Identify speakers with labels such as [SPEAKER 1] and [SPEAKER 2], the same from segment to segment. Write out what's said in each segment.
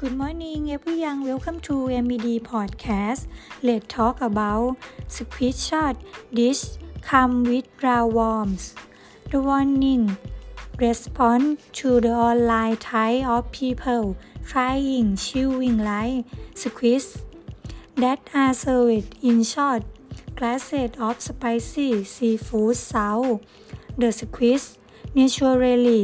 [SPEAKER 1] Good morning everyone. Welcome to MED podcast. Let's talk about squid shot dish come with roundworms. The warning response to the online type of people trying chewing like squids that are served in short glasses of spicy seafood sauce. The squids naturally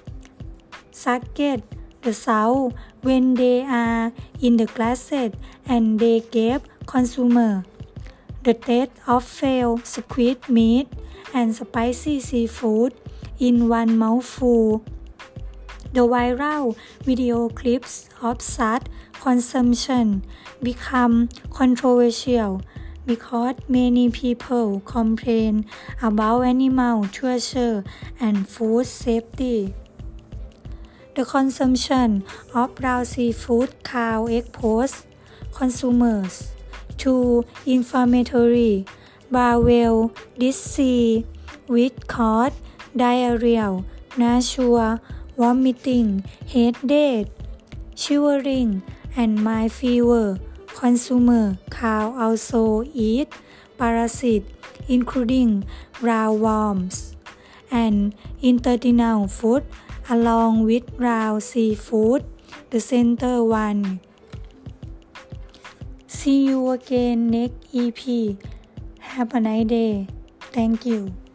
[SPEAKER 1] suck the sauce when they are in the glasses and they give consumers the taste of fresh squid meat and spicy seafood in one mouthful. The viral video clips of such consumption become controversial because many people complain about animal torture and food safety. The consumption of raw seafood can expose consumers to inflammatory bowel disease which cause diarrhea, nausea, vomiting, headache, shivering, and mild fever. Consumers can also eat parasites including roundworms and intestinal food along with raw seafood. The center one. See you again next EP. Have a nice day. Thank you.